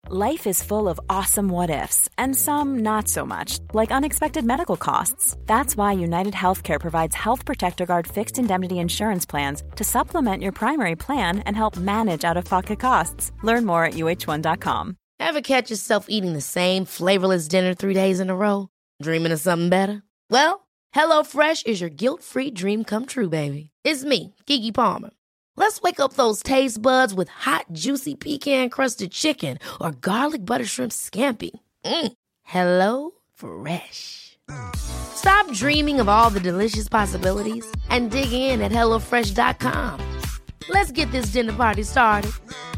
Life is full of awesome what-ifs, and some not so much, like unexpected medical costs. That's why United Healthcare provides Health Protector Guard fixed indemnity insurance plans to supplement your primary plan and help manage out-of-pocket costs. Learn more at uh1.com. Ever catch yourself eating the same flavorless dinner 3 days in a row? Dreaming of something better? Well, HelloFresh is your guilt-free dream come true, baby. It's me, Keke Palmer. Let's wake up those taste buds with hot, juicy pecan-crusted chicken or garlic butter shrimp scampi. Hello Fresh. Stop dreaming of all the delicious possibilities and dig in at HelloFresh.com. Let's get this dinner party started.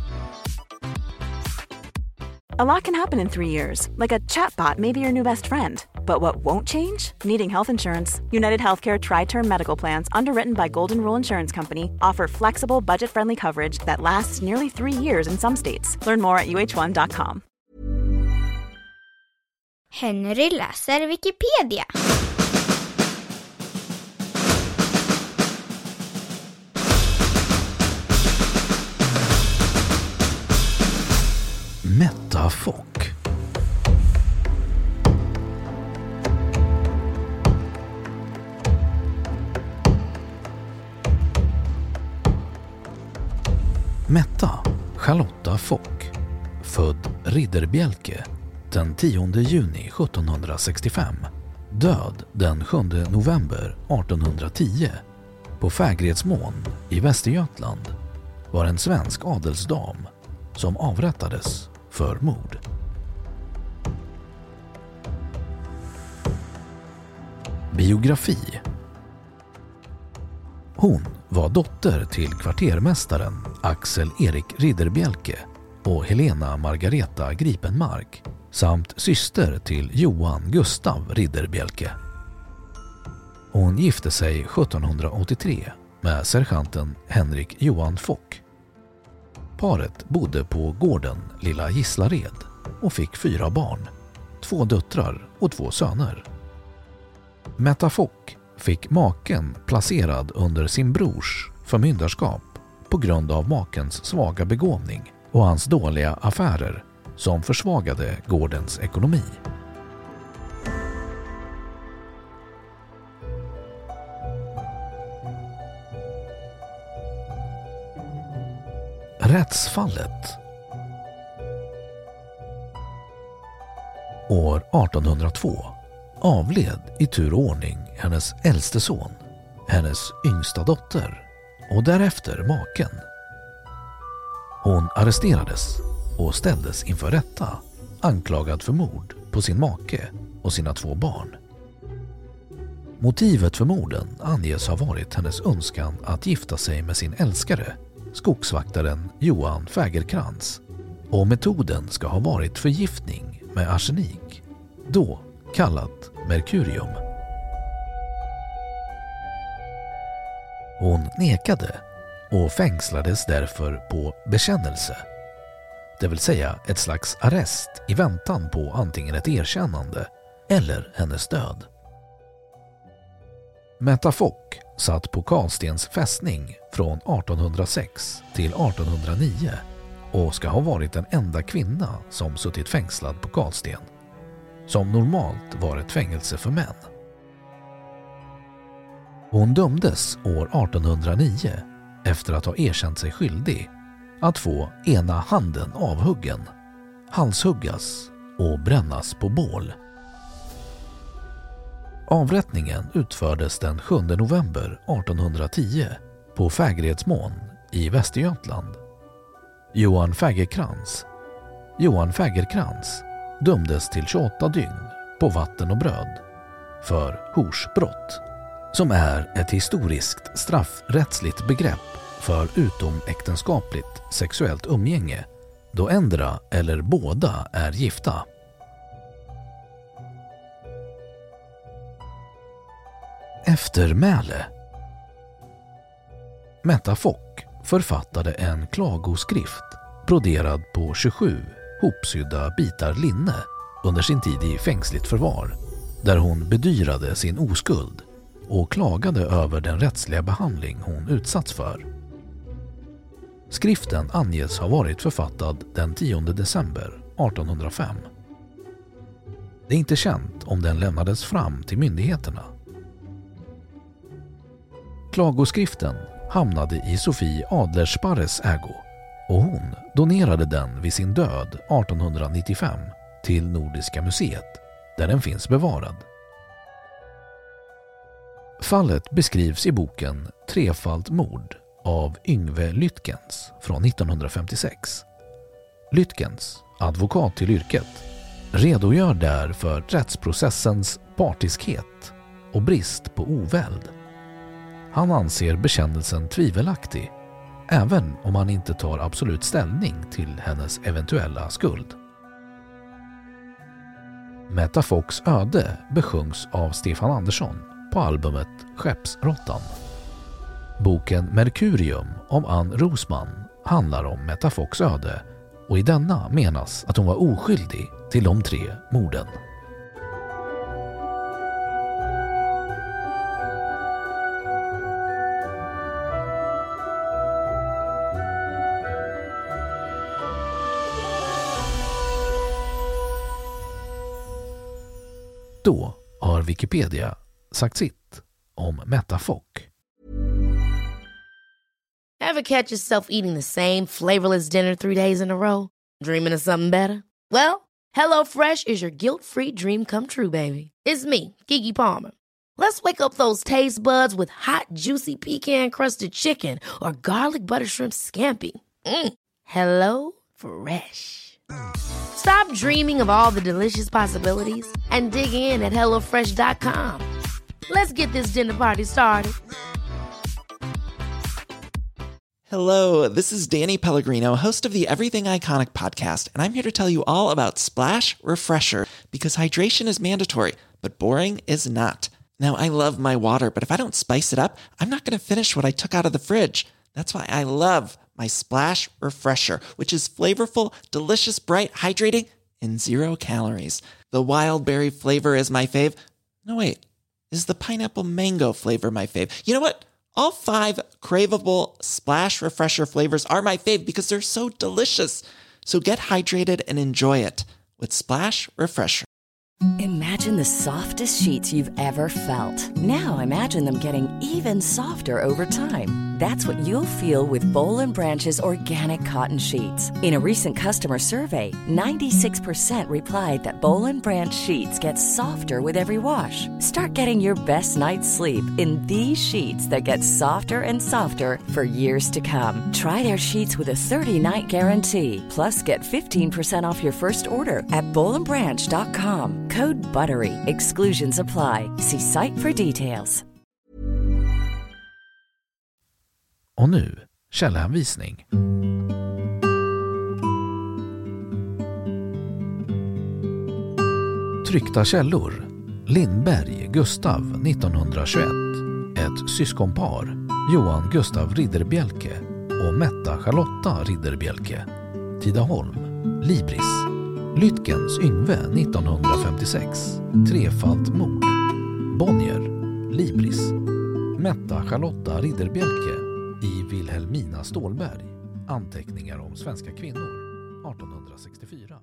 A lot can happen in 3 years, like a chatbot may be your new best friend. But what won't change? Needing health insurance. United Healthcare Tri-Term Medical Plans, underwritten by Golden Rule Insurance Company, offer flexible, budget-friendly coverage that lasts nearly 3 years in some states. Learn more at uh1.com. Henry läser Wikipedia. Metta Fock. Metta Charlotta Fock, född Ridderbjälke den 10 juni 1765, död den 7 november 1810 på Fägredsmån i Västergötland, var en svensk adelsdam som avrättades för mord. Biografi. Hon var dotter till kvartermästaren Axel Erik Ridderbjälke och Helena Margareta Gripenmark samt syster till Johan Gustav Ridderbjälke. Hon gifte sig 1783 med sergeanten Henrik Johan Fock. Paret bodde på gården Lilla Gislared och fick 4 barn, 2 döttrar och 2 söner. Metta Fock fick maken placerad under sin brors förmyndarskap på grund av makens svaga begåvning och hans dåliga affärer som försvagade gårdens ekonomi. Rättsfallet. År 1802 avled i tur och ordning hennes äldste son, hennes yngsta dotter och därefter maken. Hon arresterades och ställdes inför rätta, anklagad för mord på sin make och sina 2 barn. Motivet för morden anges ha varit hennes önskan att gifta sig med sin älskare, skogsvaktaren Johan Fägerkrans, och metoden ska ha varit förgiftning med arsenik, då kallat merkurium. Hon nekade och fängslades därför på bekännelse, det vill säga ett slags arrest i väntan på antingen ett erkännande eller hennes död. Metta Fock satt på Karlstens fästning från 1806 till 1809 och ska ha varit den enda kvinna som suttit fängslad på Karlsten, som normalt var ett fängelse för män. Hon dömdes år 1809 efter att ha erkänt sig skyldig att få ena handen avhuggen, halshuggas och brännas på bål. Avrättningen utfördes den 7 november 1810 på Fägredsmån i Västergötland. Johan Fägerkrans dömdes till 28 dygn på vatten och bröd för horsbrott, som är ett historiskt straffrättsligt begrepp för utomäktenskapligt sexuellt umgänge då ändra eller båda är gifta. Eftermäle. Metta Fock författade en klagoskrift broderad på 27 hopsydda bitar linne under sin tid i fängsligt förvar, där hon bedyrade sin oskuld och klagade över den rättsliga behandling hon utsatts för. Skriften anges ha varit författad den 10 december 1805. Det är inte känt om den lämnades fram till myndigheterna. Klagoskriften hamnade i Sofie Adlersparres ägo och hon donerade den vid sin död 1895 till Nordiska museet där den finns bevarad. Fallet beskrivs i boken Trefalt mord av Yngve Lytkens från 1956. Lytkens, advokat till yrket, redogör där för rättsprocessens partiskhet och brist på oväld. Han anser bekännelsen tvivelaktig, även om han inte tar absolut ställning till hennes eventuella skuld. Metta Focks öde besjungs av Stefan Andersson på albumet Skeppsrottan. Boken Merkurium om Ann Rosman handlar om Metta Focks öde och i denna menas att hon var oskyldig till de 3 morden. Då har Wikipedia sagt sitt om Metta Fock. Ever catch yourself eating the same flavorless dinner 3 days in a row? Dreaming of something better? Well, HelloFresh is your guilt-free dream come true, baby. It's me, Keke Palmer. Let's wake up those taste buds with hot, juicy pecan-crusted chicken or garlic butter shrimp scampi. Hello Fresh. Stop dreaming of all the delicious possibilities and dig in at HelloFresh.com. Let's get this dinner party started. Hello, this is Danny Pellegrino, host of the Everything Iconic podcast, and I'm here to tell you all about Splash Refresher, because hydration is mandatory, but boring is not. Now, I love my water, but if I don't spice it up, I'm not going to finish what I took out of the fridge. That's why I love my Splash Refresher, which is flavorful, delicious, bright, hydrating, and 0 calories. The wild berry flavor is my fave. No, wait. Is the pineapple mango flavor my fave? You know what? All 5 craveable Splash Refresher flavors are my fave because they're so delicious. So get hydrated and enjoy it with Splash Refresher. Imagine the softest sheets you've ever felt. Now imagine them getting even softer over time. That's what you'll feel with Boll & Branch's organic cotton sheets. In a recent customer survey, 96% replied that Boll & Branch sheets get softer with every wash. Start getting your best night's sleep in these sheets that get softer and softer for years to come. Try their sheets with a 30-night guarantee. Plus, get 15% off your first order at bollandbranch.com. Code BUTTERY. Exclusions apply. See site for details. Och nu, källhänvisning. Tryckta källor. Lindberg, Gustav, 1921. Ett syskonpar, Johan Gustav Ridderbjelke och Metta Charlotta Ridderbjelke. Tidaholm, Libris. Lytkens Yngve, 1956. Trefalt mord. Bonnier, Libris. Metta Charlotta Ridderbjelke i Wilhelmina Stålberg. Anteckningar om svenska kvinnor, 1864.